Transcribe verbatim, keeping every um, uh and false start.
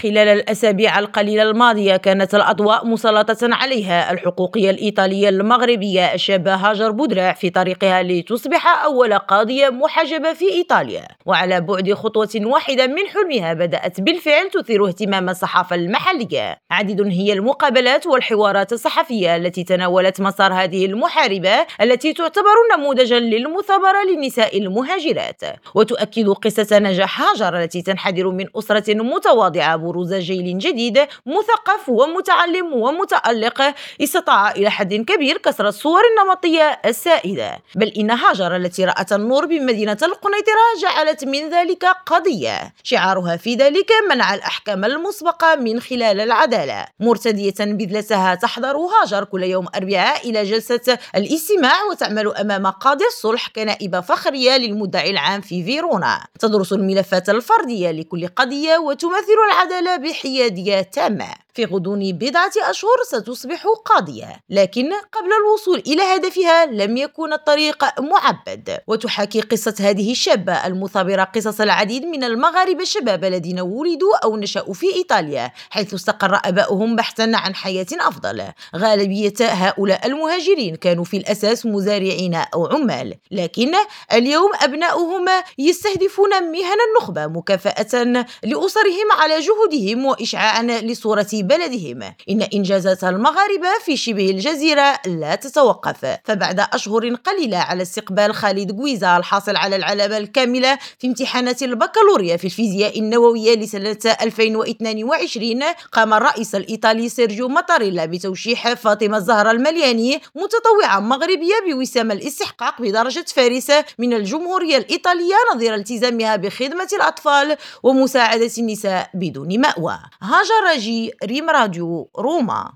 خلال الأسابيع القليلة الماضية كانت الأضواء مسلطة عليها الحقوقية الإيطالية المغربية الشابة هاجر بودراع في طريقها لتصبح أول قاضية محجبة في إيطاليا، وعلى بعد خطوة واحدة من حلمها بدأت بالفعل تثير اهتمام الصحافة المحلية. عديد هي المقابلات والحوارات الصحفية التي تناولت مسار هذه المحاربة التي تعتبر نموذجا للمثابرة للنساء المهاجرات، وتؤكد قصة نجاح هاجر التي تنحدر من أسرة متواضعة بروز جيل جديد مثقف ومتعلم ومتألق استطاع إلى حد كبير كسر الصور النمطية السائدة. بل إن هاجر التي رأت النور بمدينة القنيطرة جعلت من ذلك قضية شعارها في ذلك منع الأحكام المسبقة من خلال العدالة، مرتدية بذلتها تحضر هاجر كل يوم أربعاء إلى جلسة الاستماع وتعمل أمام قاضي الصلح كنائبة فخرية للمدعي العام في فيرونا، تدرس الملفات الفردية لكل قضية وتمثل العدالة بحيادية تامة. في غضون بضعة أشهر ستصبح قاضية، لكن قبل الوصول إلى هدفها لم يكن الطريق معبد. وتحاكي قصة هذه الشابة المثابرة قصص العديد من المغاربة الشباب الذين ولدوا أو نشأوا في إيطاليا حيث استقر آباؤهم بحثا عن حياة أفضل. غالبية هؤلاء المهاجرين كانوا في الأساس مزارعين أو عمال، لكن اليوم أبناؤهم يستهدفون مهن النخبة مكافأة لأسرهم على جهودهم وإشعاعا لصورة بلدهم. إن إنجازات المغاربة في شبه الجزيرة لا تتوقف، فبعد أشهر قليلة على استقبال خالد غويزا الحاصل على العلامة الكاملة في امتحانات البكالوريا في الفيزياء النووية لسنة ألفين واثنين وعشرين، قام الرئيس الإيطالي سيرجيو ماتاريلا بتوشيح فاطمة الزهراء الملياني متطوعة مغربية بوسام الاستحقاق بدرجة فارس من الجمهورية الإيطالية نظير التزامها بخدمة الأطفال ومساعدة النساء بدون مأوى. هاجر راجي، ريم راديو، روما.